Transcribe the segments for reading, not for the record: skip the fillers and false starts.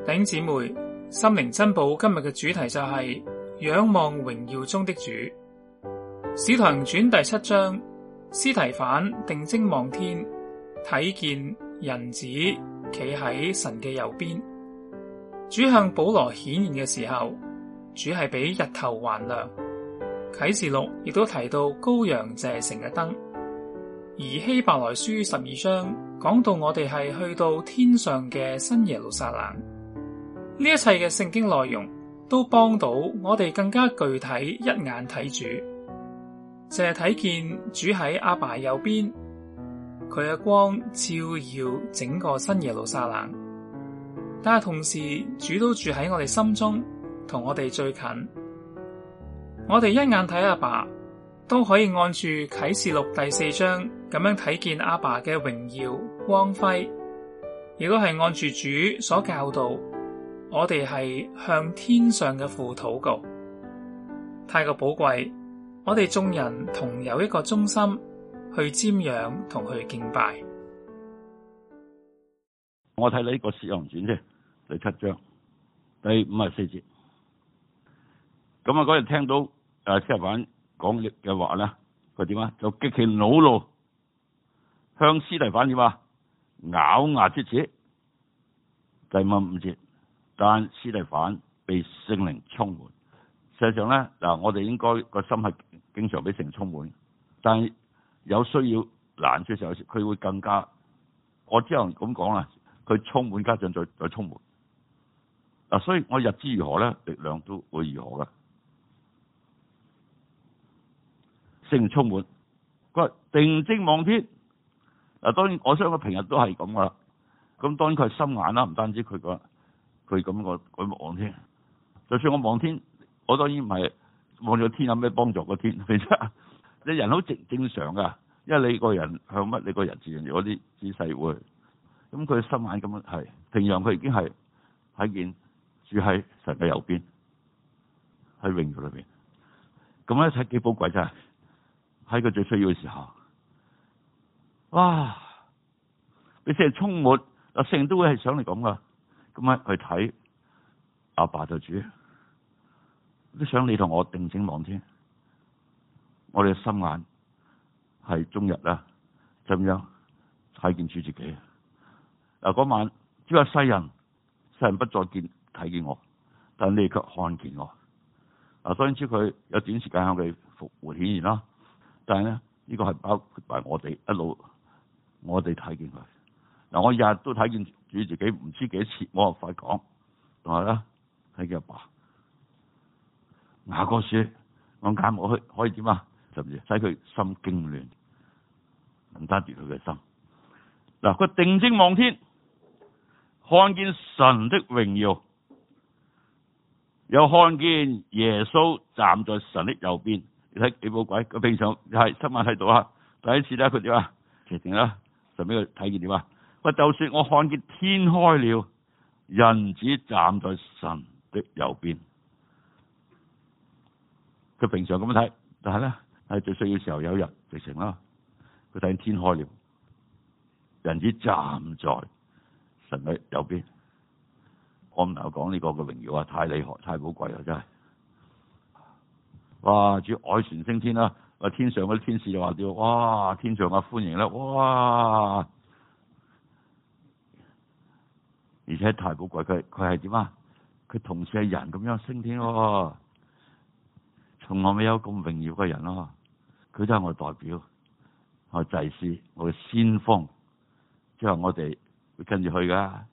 弟兄姊妹，心靈珍寶今日嘅主題就係仰望榮耀中的主。使徒行傳第7章，司提反定睛望天，睇見人子企喺神嘅右邊。主向保羅顯現嘅時候，主係比日頭還亮。啟示錄亦都提到羔羊就係城嘅燈，而希伯來書12章講到我哋係去到天上嘅新耶路撒冷。呢一切嘅聖經內容都幫到我哋更加具體一眼睇主，就係睇見主喺阿爸右邊，佢嘅光照耀整個新耶路撒冷。但係同時主都住喺我哋心中，同我哋最近。我哋一眼睇阿爸，都可以按住啟示錄第4章咁樣睇見阿爸嘅榮耀光輝，亦都係按住主所教導，我哋係向天上嘅父禱告。太過寶貴，我哋眾人同有一個中心去瞻仰同去敬拜。 我睇呢個使徒行傳啫，第7章第54節。咁啊，嗰日聽到司提反講嘅話咧，佢點啊？就極其惱怒，向司提反點啊？咬牙切齒。第55節，但司提反被聖靈充滿。實際上咧，嗱，我哋應該個心係經常俾聖靈充滿，但係有需要難處嘅時候，佢會更加。我之後咁講啦，佢充滿加上再充滿。嗱，所以我日子如何咧，力量都會如何噶。聖靈充滿，佢話定睛望天。嗱，當然我相信佢平日都係咁噶啦。咁當然佢係心眼啦，唔單止佢咁個望天。就算我望天，我當然唔係望咗天有咩幫助個天。你人好正常噶，因為你個人向乜，你個人自然有啲姿勢會。咁佢心眼咁樣係，平常佢已經係睇見住喺神嘅右邊，喺榮耀裏邊。咁咧睇幾寶貴真係。喺佢最需要嘅時候，哇！你成日充滿，聖靈都會係想嚟咁噶。咁啊去睇阿爸就主，都想你同我定睛望天。我哋嘅心眼係終日啦，就咁樣睇見主自己。嗱，嗰晚只話世人不再睇見我，但你卻看見我。嗱，當然知佢有短時間向佢復活顯現啦。但係咧，呢個係包括埋我哋一路，我哋睇見佢。嗱，我日日都睇見主自己，唔知幾多次，我又快講，同埋咧睇見阿爸。雅各書，我眼目可以點啊？甚至使佢心驚亂，唔單奪佢嘅心。嗱，佢定睛望天，看見神的榮耀，又看見耶穌站在神的右邊。你睇幾寶貴？佢平常係親眼睇到啊，第一次咧佢點啊？決定啦，就俾佢睇見點啊？喂，就算我看見天開了，人子站在神的右邊。佢平常咁樣睇，但係咧係最需要嘅時候，有一日直情啦，佢睇見天開了，人子站在神嘅右邊。我唔能夠講呢個嘅榮耀啊，太厲害，太寶貴啦，真係。哇！主凱旋升天啦，天上嗰啲天使就話叫哇，天上啊歡迎啦，哇！而且太寶貴，佢係點啊？佢同時係人咁樣升天喎，從來未有咁榮耀嘅人咯。佢都係我代表，我祭司，我嘅先鋒，之後我哋會跟住去噶。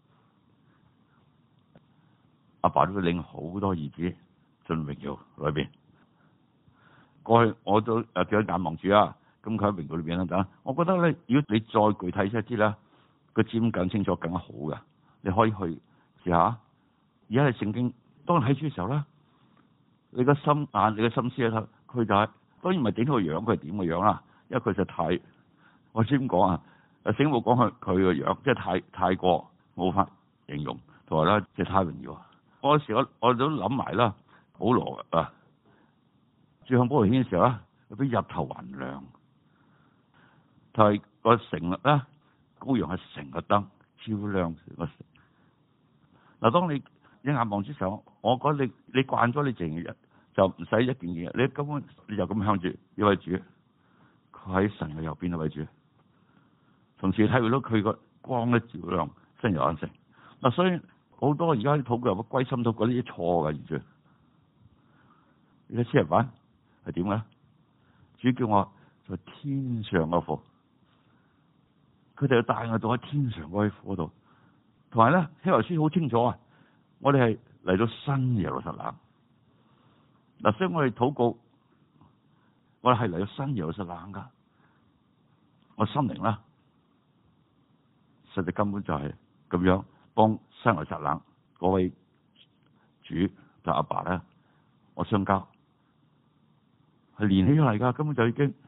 阿爸都會領好多兒子進榮耀裏邊。過去我都叫咗眼望住啊，咁佢喺榮耀裏邊啦等。我覺得咧，如果你再具體一啲咧，個佔更清楚更加好嘅，你可以去試下。而家係聖經，當你睇書嘅時候咧，你個心眼、你個心思咧，佢就係當然唔係整到個樣，佢係點個樣啦。因為佢就太，我先講啊，聖經冇講佢個樣，即係太過冇法形容，同埋咧即係太榮耀。嗰時我都諗埋啦，保羅啊。住向保羅顯嘅時候咧，佢比日頭還亮。就係個城咧，羔羊係城嘅燈，照亮成個城。 嗱，當你一眼望之上，我覺得你慣咗你成日就唔使一件嘢，你根本你就咁向住呢位主，佢喺神嘅右邊呢位主，同時體會到佢個光咧照亮真有眼成。嗱，所以好多而家啲禱告有歸心到嗰啲錯嘅完全。而家詩人版係點嘅？主叫我在天上嘅父，佢哋要帶我到喺天上嗰啲度。同埋咧，希伯來書好清楚啊！我哋係嚟到新耶路撒冷。嗱，所以我哋禱告，我哋係嚟到新耶路撒冷噶。我心靈啦，實際根本就係咁樣幫新耶路撒冷嗰位主就阿爸咧，我相交係連起嚟噶，根本就已經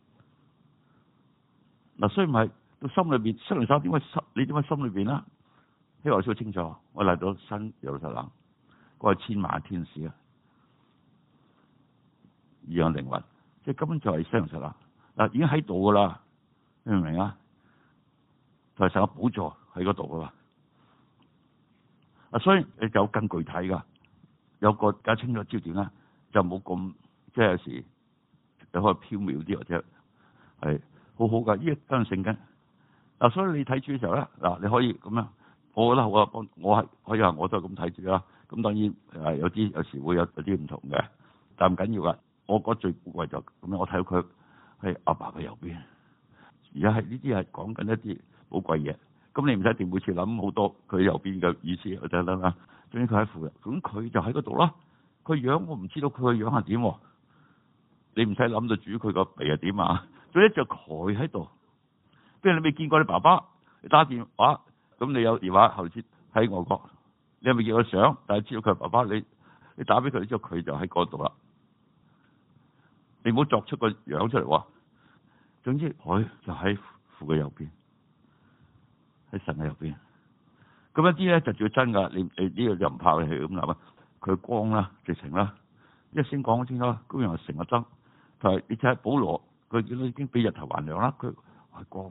嗱，所以唔係到心裏邊，新耶路撒冷點解你點解心裏邊啦？希伯來書清楚，我嚟到新耶路撒冷，嗰個千萬天使啊，異樣靈魂，即係根本就係新耶路撒冷嗱，已經喺度噶啦，你明唔明啊？就係成個寶座喺嗰度噶嘛，啊，所以你就更具體噶，有個更加清楚焦點啦，就冇咁即係有時你可以飄渺啲或者係好好噶，呢個真係聖經嗱，所以你睇住嘅時候咧，嗱，你可以咁樣。我覺得好啊，我係可以話我都係咁睇住啦。咁當然有時會有啲唔同嘅，但唔緊要噶。我覺得最寶貴就咁樣，我睇到佢喺阿爸嘅右邊。而家係呢啲係講緊一啲寶貴嘢。咁你唔使一定每次諗好多佢右邊嘅意思就得啦。總之佢喺附近，咁佢就喺嗰度啦。佢樣我唔知道佢個樣係點。你唔使諗到主佢個鼻係點啊？總之就佢喺度。不如你未見過你爸爸，你打電話。咁你有電話後先喺外國，你係咪見過相？但係知道佢係爸爸，你打俾佢之後，佢就喺嗰度啦。你唔好作出個樣出嚟喎。總之佢就喺父嘅右邊，喺神嘅右邊。咁一啲咧就叫真噶，你呢個就唔怕你係咁諗啊。佢光啦，直情啦，一先講清楚，高陽係成個燈。但係你睇下保羅，佢見到已經比日頭還亮啦，佢係光。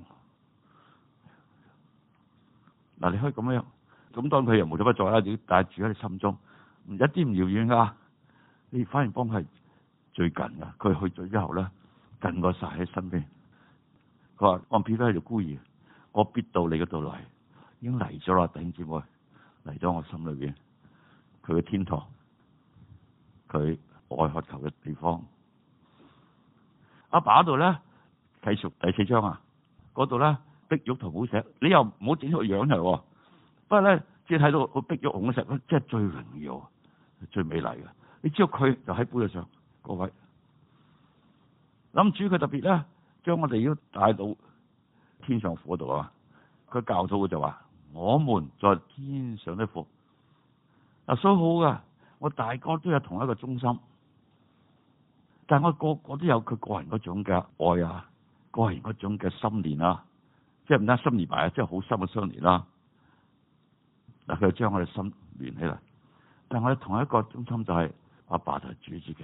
嗱，你可以咁樣，咁當佢又無所不在啦，你帶住喺你心中，一啲唔遙遠噶，你反而幫佢係最近噶。佢去咗之後咧，近過晒喺身邊。佢話：我撇低喺度孤兒，我必到你嗰度嚟，已經嚟咗啦，弟兄姊妹，嚟咗我心裏邊，佢嘅天堂，佢愛渴求嘅地方。阿爸嗰度咧，繼續第4章啊，嗰度咧。碧玉同寶石，你又唔好整出個樣嚟。不過咧，只係睇到個碧玉紅石咧，即係最榮耀、最美麗嘅。你知道佢就喺寶座上嗰位。諗住佢特別咧，將我哋要帶到天上父嗰度啊！佢教導就話：我們在天上的父。嗱，所以好噶，我大哥都有同一個中心，但係我個個都有佢個人嗰種嘅愛啊，個人嗰種嘅心連啊。即係唔單心連埋啊，即係好深嘅相連啦。嗱，佢就將我哋心連起嚟，但係我哋同一個中心就係阿爸就係主自己。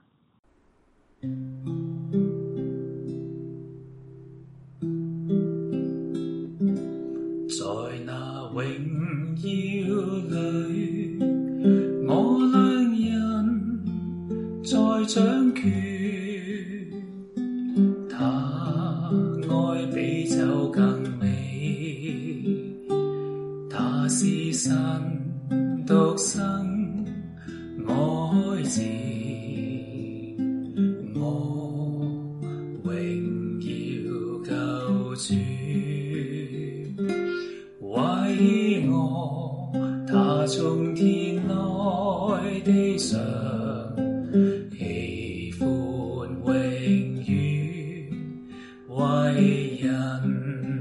在那榮耀裡，我兩人在掌權，他愛比酒更美，他是神獨生愛子，我榮耀救主，為我他從天來地上，喜歡榮譽為人，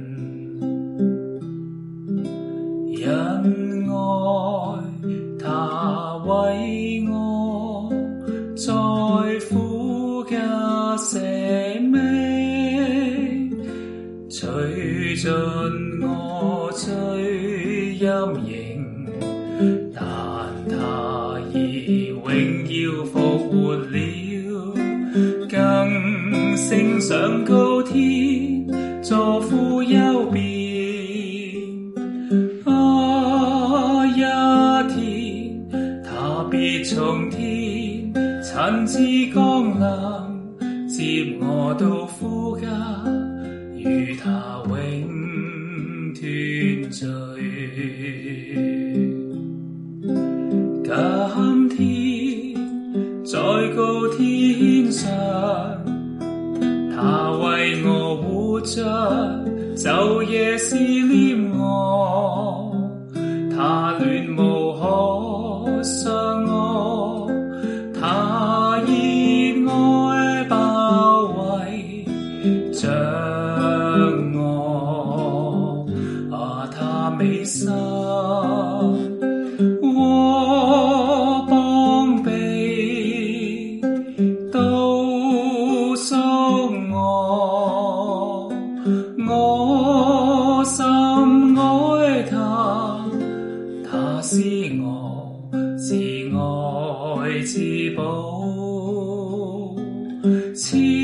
因愛他為我在苦家捨命，除盡我罪陰影，但他以榮耀復活了，更升上高天，坐父右邊。 親自降臨，接我到父家，與他永團聚。今天在高天上，他為我活着，晝夜思念我，他戀慕可傷我，他熱愛包圍着我，他美心和膀臂都屬我，我深愛他，他是我至愛至寶。